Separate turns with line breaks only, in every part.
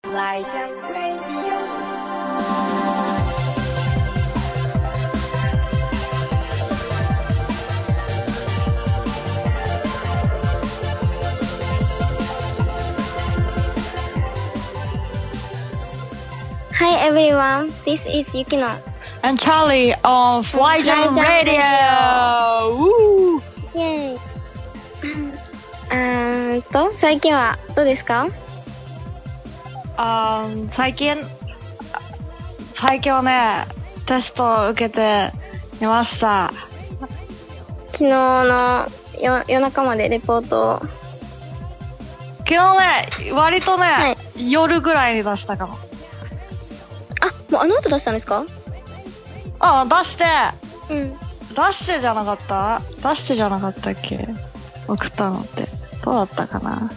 Hi everyone, this is Yukino
and Charlie on Flyjam Radio! Woo!
イェーイ最近はどうですか？
最近はね、テストを受けていました。
昨日の夜中までレポートを。
昨日ね、割とね、はい、夜ぐらいに出したかも。
もうあの後出したんですか？
出してじゃなかったっけ？送ったのって。どうだったかな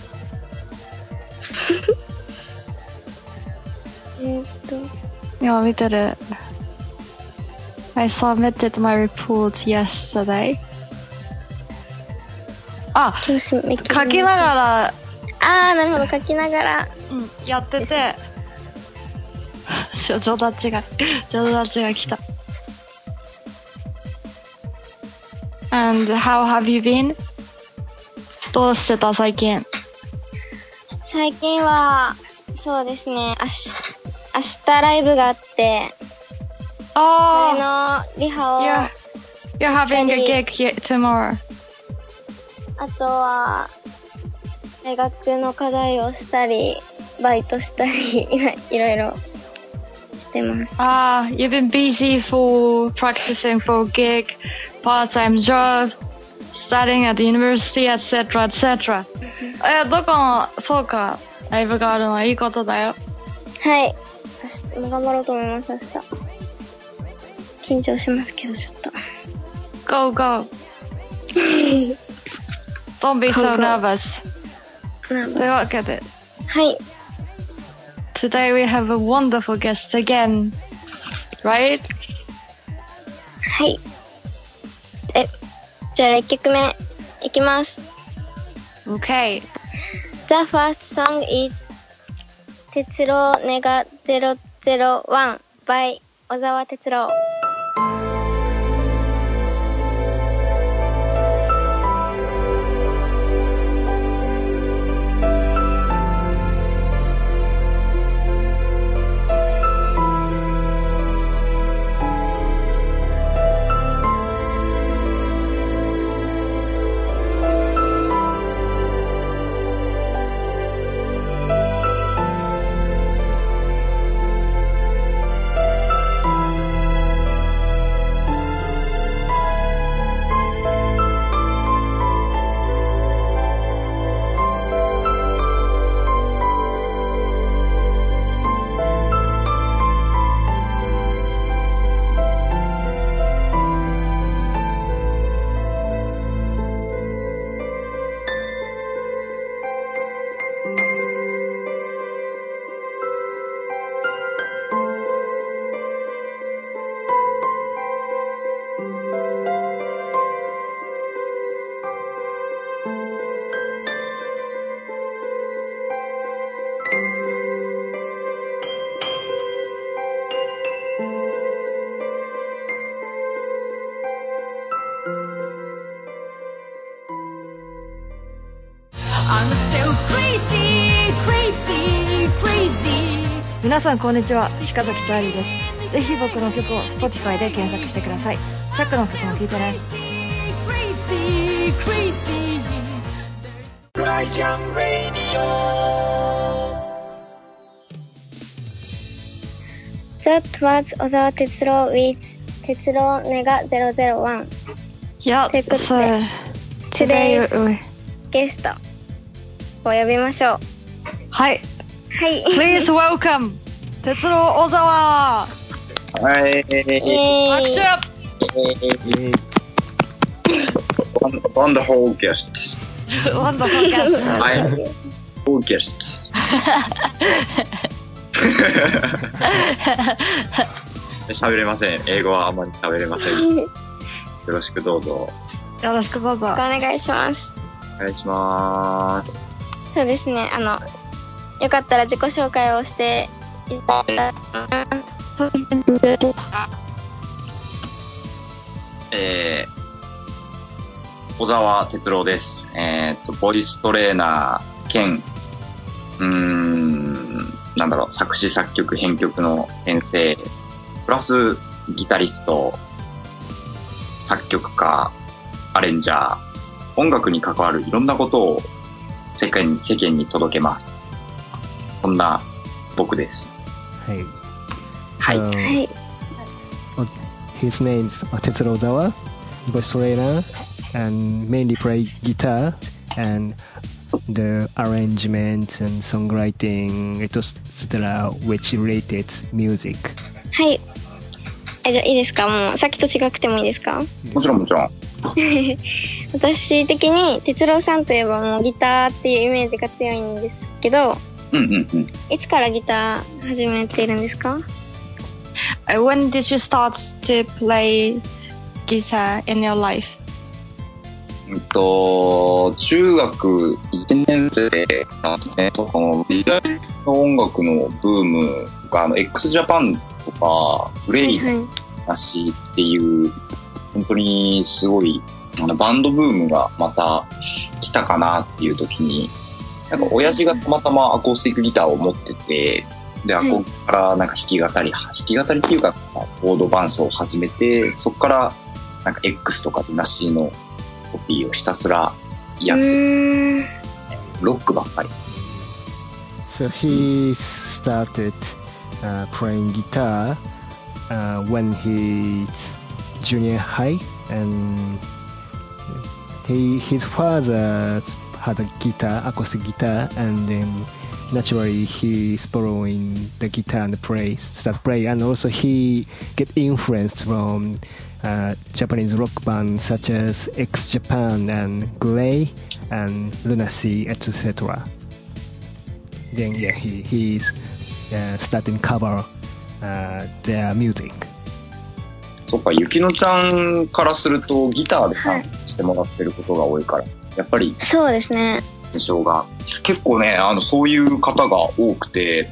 今見てる。I submitted my report yesterday. 書きながら。
なるほど、書きながら。
やってて。上達が来た。And how have you been? どうしてた最近？
最近は、そうですね、明日ライブがあって、それのリハを。
You're having a gig tomorrow.
あとは、大学の課題をしたり、バイトしたり、いろいろ。
You've been busy for practicing for a gig, part-time job, studying at the university, etc., etc. どこの、そうか、ライブがあるのはいいことだよ。
はい。頑張ろうと思います、明日。緊張しますけど、ちょっと。
Go, go. Don't be so nervous. というわけで。
はい。
Today we have a wonderful guest again, right?
はい。じゃあ1曲目いきます。
Okay.
The first song is 鉄郎ネガ001 by 小沢哲郎。
皆さんこんにちは、鹿崎チャーリーです。ぜひ僕の曲を Spotify で検索してください。チャックの曲も聴いてね。
That was 小沢哲郎 with 哲郎ネガ001。
Yeah,
ということで、Today's ゲストを呼びましょう。
はい。
はい。
Please welcome 哲郎小沢。
はい。
拍手。
Wonderful guest.
Wonderful guest.
I'm full guest. 喋れません。英語はあまり喋れません。よろしくどうぞ。
よろしくどうぞ。
よろしくお願いします。
お願いします。
そうですね。 よかったら自己紹介をしていただきます。
小沢哲郎です。ボイストレーナー兼、作詞作曲編曲の先生、プラスギタリスト、作曲家、アレンジャー、音楽に関わるいろんなことを世間に届けます。そんな僕です。
はい。
はい。
はい。
His name is Tetsuro Ozawa, voice trainer, and mainly play guitar and the arrangements and songwriting, etc., which related music.
はい。じゃあいいですか？もうさっきと違くてもいいですか？
もちろん。
私的に哲郎さんといえばもうギターっていうイメージが強いんですけど、いつからギター始めているんですか？
When did you start to play guitar in your life?
中学1年生なんですね。ビジュアルの音楽のブームがx ジャパンとかグレイの話っていう、本当にすごいバンドブームがまた来たかなっていう時に、なんか親父がたまたまアコースティックギターを持ってて、でアコからなんか弾き語りっていうかコード伴奏を始めて、そこからなんか X とかルナシーのコピーをひたすらやってロックばっかり。
So he started playing guitar when he's junior high, and his father had a guitar, acoustic guitar, and then naturally he's borrowing the guitar and start play, and also he get influenced from Japanese rock bands such as X Japan and Grey and Lunacy, etc. Then he's starting cover their music.
そっか、ゆきのちゃんからするとギターで参加してもらってることが多いから、やっぱり
そうですね。
印象が結構ね、そういう方が多くて、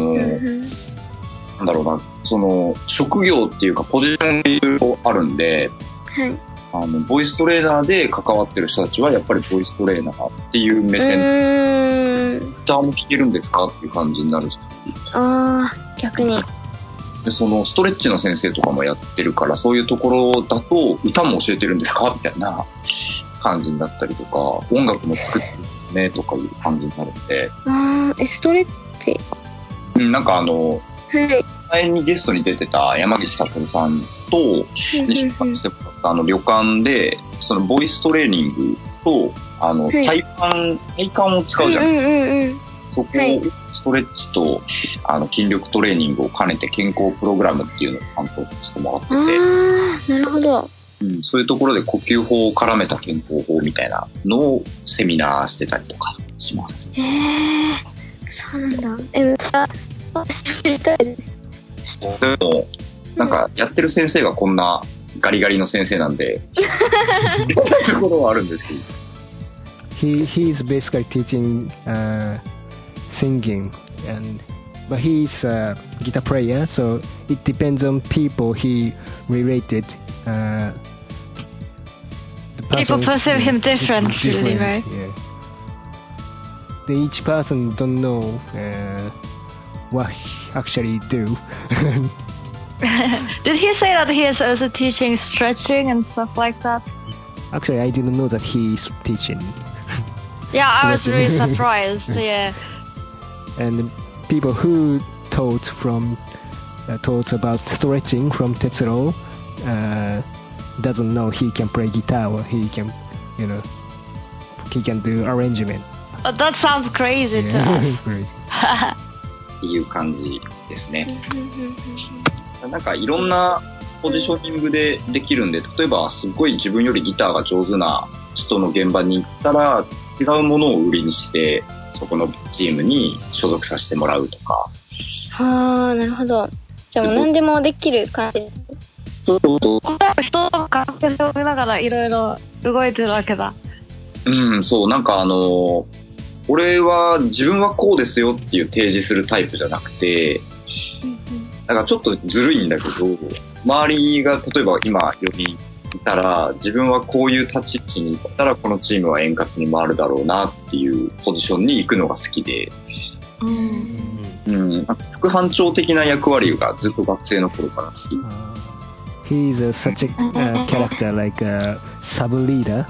なんだろうな、その職業っていうかポジションいろいろあるんで、はい、ボイストレーナーで関わってる人たちはやっぱりボイストレーナーっていう目線で、ギターも弾けるんですかっていう感じになるし、
逆に。
でそのストレッチの先生とかもやってるから、そういうところだと歌も教えてるんですかみたいな感じになったりとか、音楽も作ってるんですねとかいう感じになるんで。
ストレッチ、
なんか前にゲストに出てた山岸悟さんと出版してもらった旅館で、そのボイストレーニングと体幹を使うじゃないですか。そこをストレッチと筋力トレーニングを兼ねて健康プログラムっていうのを担当してもらってて、
なるほど、
そういうところで呼吸法を絡めた健康法みたいなのをセミナーしてたりとかします。
そうなんだ。知りたいです。
でもなんかやってる先生がこんなガリガリの先生なんでところはあるんですけど。
He's basically teaching singing, but he's a guitar player, so it depends on people he related.
People perceive him differently, right?
Yeah. Each person don't know what he actually do.
Did he say that he is also teaching stretching and stuff like that?
Actually, I didn't know that he is teaching.
Yeah, I was really surprised. Yeah.
And people who taught about stretching from Tetsuro doesn't know he can play guitar or he can do arrangement.
That sounds crazy to us.
Crazy.
っていう感じですね。なんかいろんなポジショニングでできるんで、例えばすごい自分よりギターが上手な人の現場に行ったら違うものを売りにしてそこのチームに所属させてもらうとか。
なるほど。じゃあもう何でもできる感じ。
人と関係を見ながらいろいろ動いてるわけだ。
そう、なんか俺は自分はこうですよっていう提示するタイプじゃなくて、だからちょっとずるいんだけど、周りが例えば今4人いたら、自分はこういう立ち位置にいたらこのチームは円滑に回るだろうなっていうポジションに行くのが好きで、副班長的な役割がずっと学生の頃から好き。
He's such a character like a sub leader.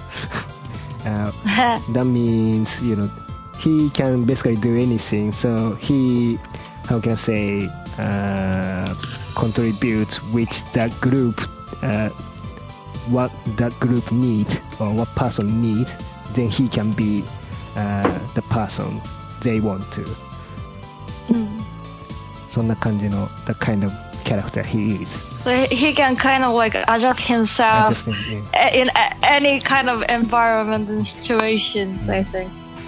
That means, you know, he can basically do anything. So he, how can I say, contribute which that group, what that group need or what person need. Then he can be the person they want to. そんな感じの the kind of character he is.
He can kind of like adjust himself in any kind of environment and situations, I think.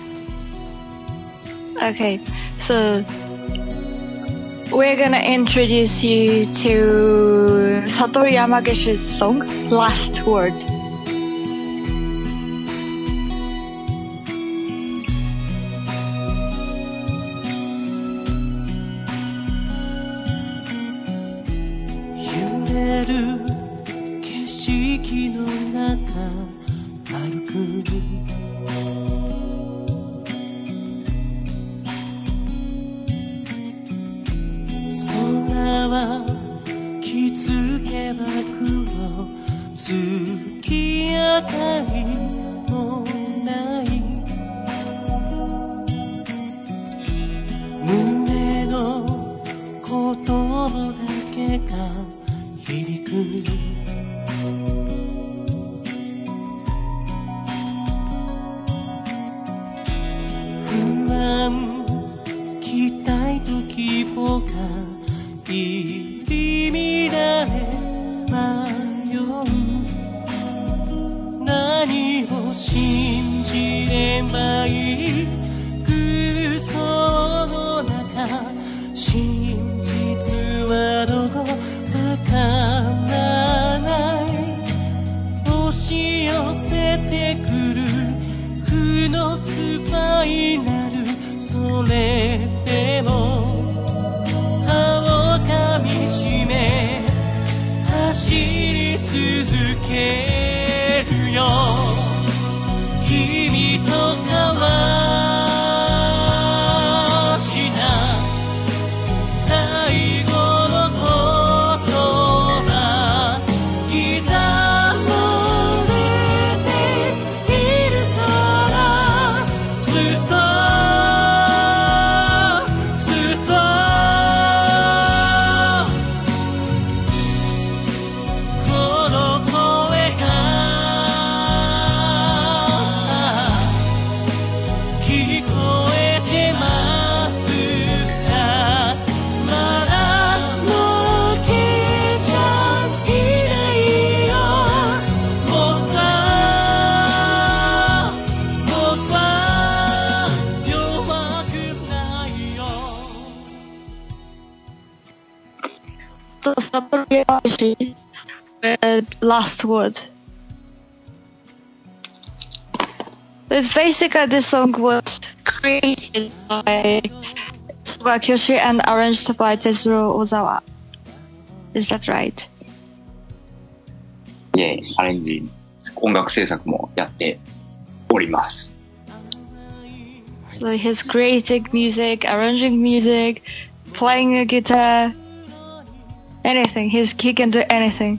Okay, so we're gonna introduce you to Satoru Yamagishi's song, Last Word.
景色の中歩く空は気づけば黒月明かりもない胸の言葉だけが響く不安期待と希望が入り乱れ迷う何を信じればいい空想の中真実はどこわからない押し寄せてくる負のスパイラルそれでも歯を噛みしめ走り続けるよ君と交わした最後の言葉刻まれているからずっとこの声が聞こえてますかまだ負けちゃいないよ僕は弱くないよ
So Satoru Yamagishi with Last Word. It's basically this song was created by Soga Kyoshi and arranged by Tetsuro Ozawa. Is that right?
いえ、アレンジ、音楽制作もやっております。
So he's creating music, arranging music, playing a guitar, anything. He can do anything.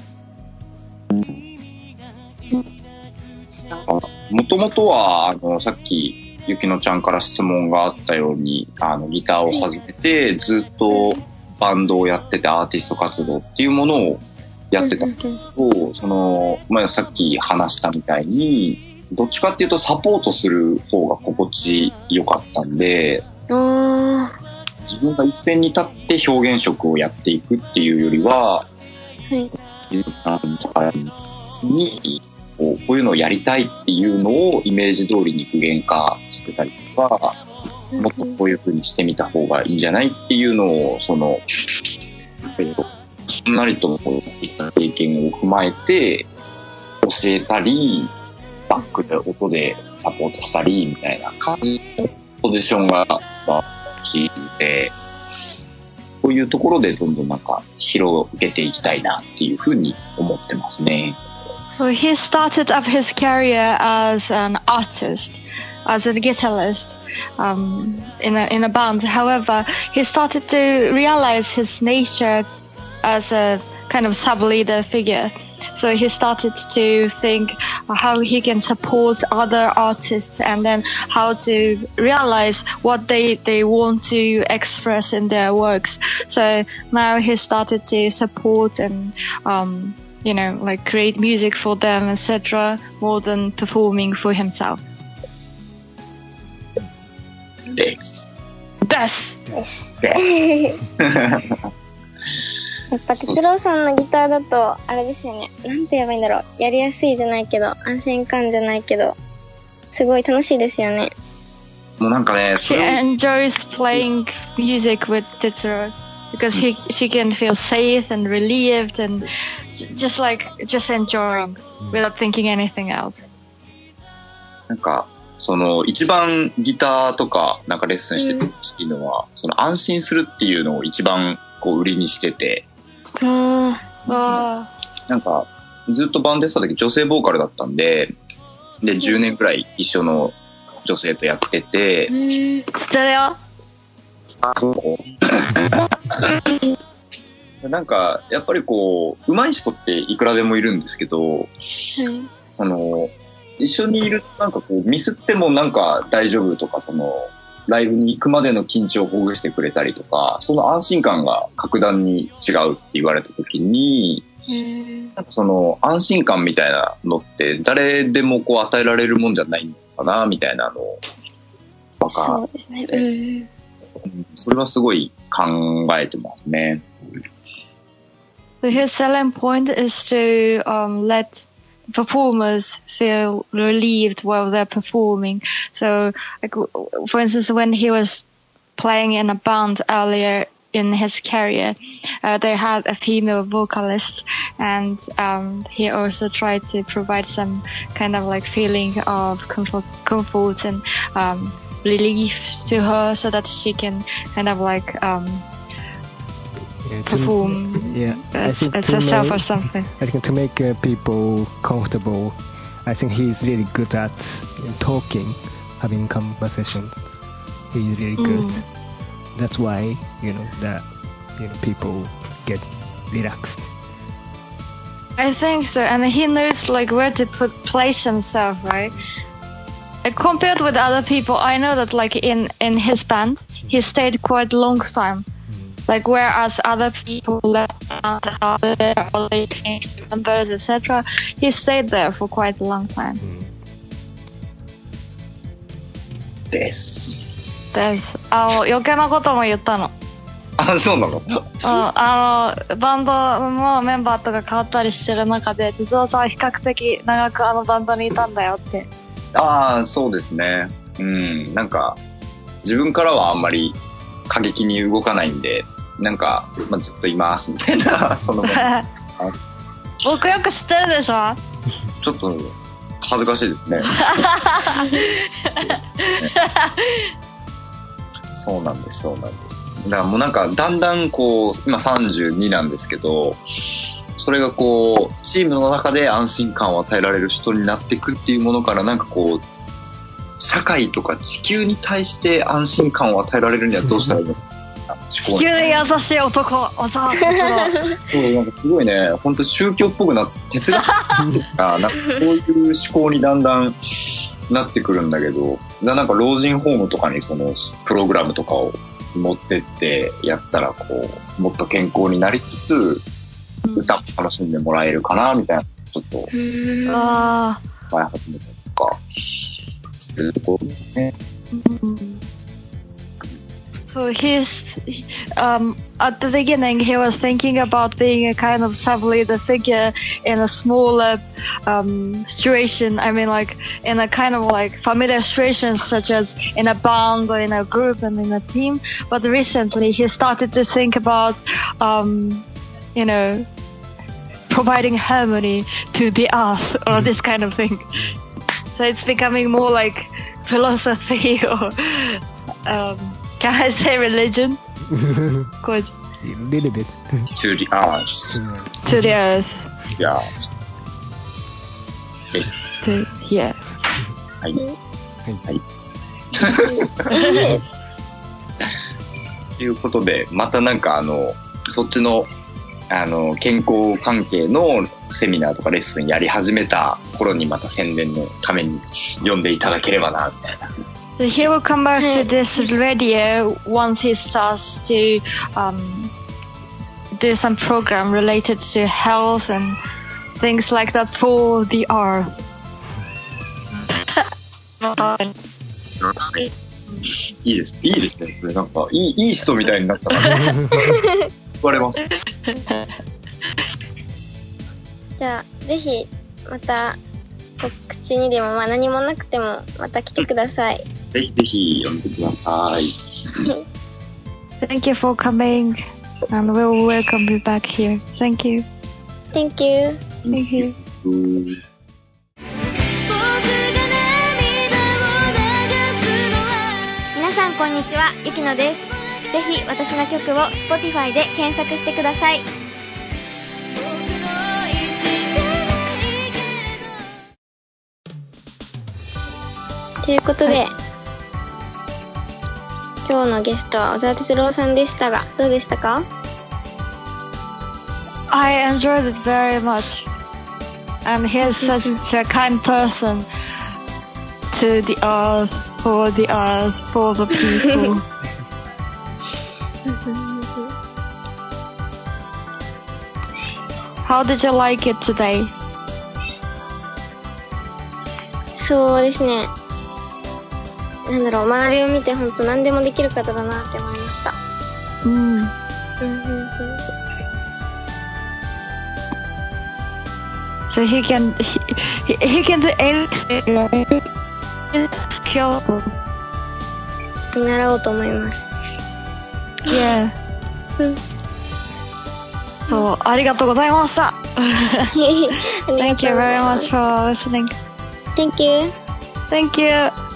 もともとはさっきゆきのちゃんから質問があったようにギターを始めてずっとバンドをやっててアーティスト活動っていうものをやってたんだけど、さっき話したみたいにどっちかっていうとサポートする方が心地よかったんで、自分が一線に立って表現色をやっていくっていうよりは、にこういうのをやりたいっていうのをイメージ通りに具現化してたりとか、もっとこういう風にしてみた方がいいんじゃないっていうのをしんなりとこういった経験を踏まえて教えたり、 バックで音でサポートしたりみたいな感じのポジションが欲しいので、こういうところでどんどんなんか広げていきたいなっていうふうに思ってますね。
Well, he started up his career as an artist, as a guitarist, in a band. However, he started to realize his nature as a kind of sub-leader figure. So he started to think how he can support other artists and then how to realize what they want to express in their works. So now he started to support and, you know, like create music for them, etc., more than performing for himself.
です。
です。やっぱ哲郎さんのギターだとあれですよね。なんて言えばいいんだろう。やりやすいじゃないけど、安心感じゃないけど、すごい楽しいですよね。
もうなんかね、
She enjoys playing music with Tetsuro because she can feel safe and relieved and just enjoying without thinking anything else.
なんかその一番ギターとかなんかレッスンしててほしいのは、その安心するっていうのを一番こう売りにしてて。なんかずっとバンドやってた時女性ボーカルだったんで、10年くらい一緒の女性とやってて、
知ってるよ。
なんかやっぱりこう上手い人っていくらでもいるんですけど、その一緒にいるとなんかこうミスってもなんか大丈夫とか、そのライブに行くまでの緊張をほぐしてくれたりとか、その安心感が格段に違うって言われた時に、なんかその安心感みたいなのって誰でもこう与えられるもんじゃないのかなみたいなのを分かって、そうですね。それはすごい考えてますね。
So his selling point is to let performers feel relieved while they're performing. So, like, for instance, when he was playing in a band earlier in his career, they had a female vocalist, and he also tried to provide some kind of like feeling of comfort and relief to her, so that she can kind of like perform as herself or something.
I think to make people comfortable, I think he's really good at talking, having conversations. He's really good. That's why, people get relaxed.
I think so, and he knows like where to place himself, right? Like, compared with other people, I know that like in his band, he stayed quite a long time. Like, whereas other people left out there or they changed members, etc., he stayed there for quite a long time.
です。
余計なことも言ったの。
あ、そうなの？
バンドのメンバーとか変わったりしてる中で、哲夫さんは比較的長くあのバンドにいたんだよって。
ああ、そうですね。なんか、自分からはあんまり過激に動かないんで、なんか、ずっといますみたいな、その
僕よく知ってるでしょ？
ちょっと恥ずかしいですね。そうなんです。だからもうなんかだんだんこう今32なんですけど、それがこうチームの中で安心感を与えられる人になっていくっていうものから、なんかこう社会とか地球に対して安心感を与えられるにはどうしたらいいのか。
地球で優しい男。そうなんか
すごいね、本当宗教っぽくなって哲学なんかこういう思考にだんだんなってくるんだけど、なんか老人ホームとかにそのプログラムとかを持ってってやったら、こうもっと健康になりつつ歌も楽しんでもらえるかなみたいな、ちょっと前始めたりとかするところですね。
So he's at the beginning he was thinking about being a kind of sub-leader figure in a smaller situation. I mean, like in a kind of like familiar situations such as in a band or in a group and in a team. But recently he started to think about, providing harmony to the earth or this kind of thing. So it's becoming more like philosophy or can I say religion? Good.
A little bit.
To the earth.
To the earth.
Yeah. です。
Yeah.
はい。はい。ということで、またなんかそっちの健康関係のセミナーとかレッスンやり始めた頃にまた宣伝のために読んでいただければなみたいな。
So he will come back to this radio once he starts to do some program related to health and things like that for the earth.
いいですね。それなんかいい人みたいになったから、ね、言われます。
じゃあぜひまた告知にでも何もなくてもまた来てください。
ぜひぜひ読んでください。
Thank you for coming, and we'll welcome you back here. Thank you.
Thank you.
Thank you.
皆さんこんにちは、ゆきのです。ぜひ私の曲を Spotify で検索してください。ということで、今日のゲストは小沢哲郎さんでしたが、どうでしたか？
I enjoyed it very much, and he is such a kind person to the earth, for the people. How did you like it today?
そうですね。なんだろう、周りを見て本当何でもできる方だなって思いました。
So he can do anything. Skillful.
見習おうと思います。
Yeah. そう、ありがとうございました。Thank you very much for listening.
Thank you.
Thank you.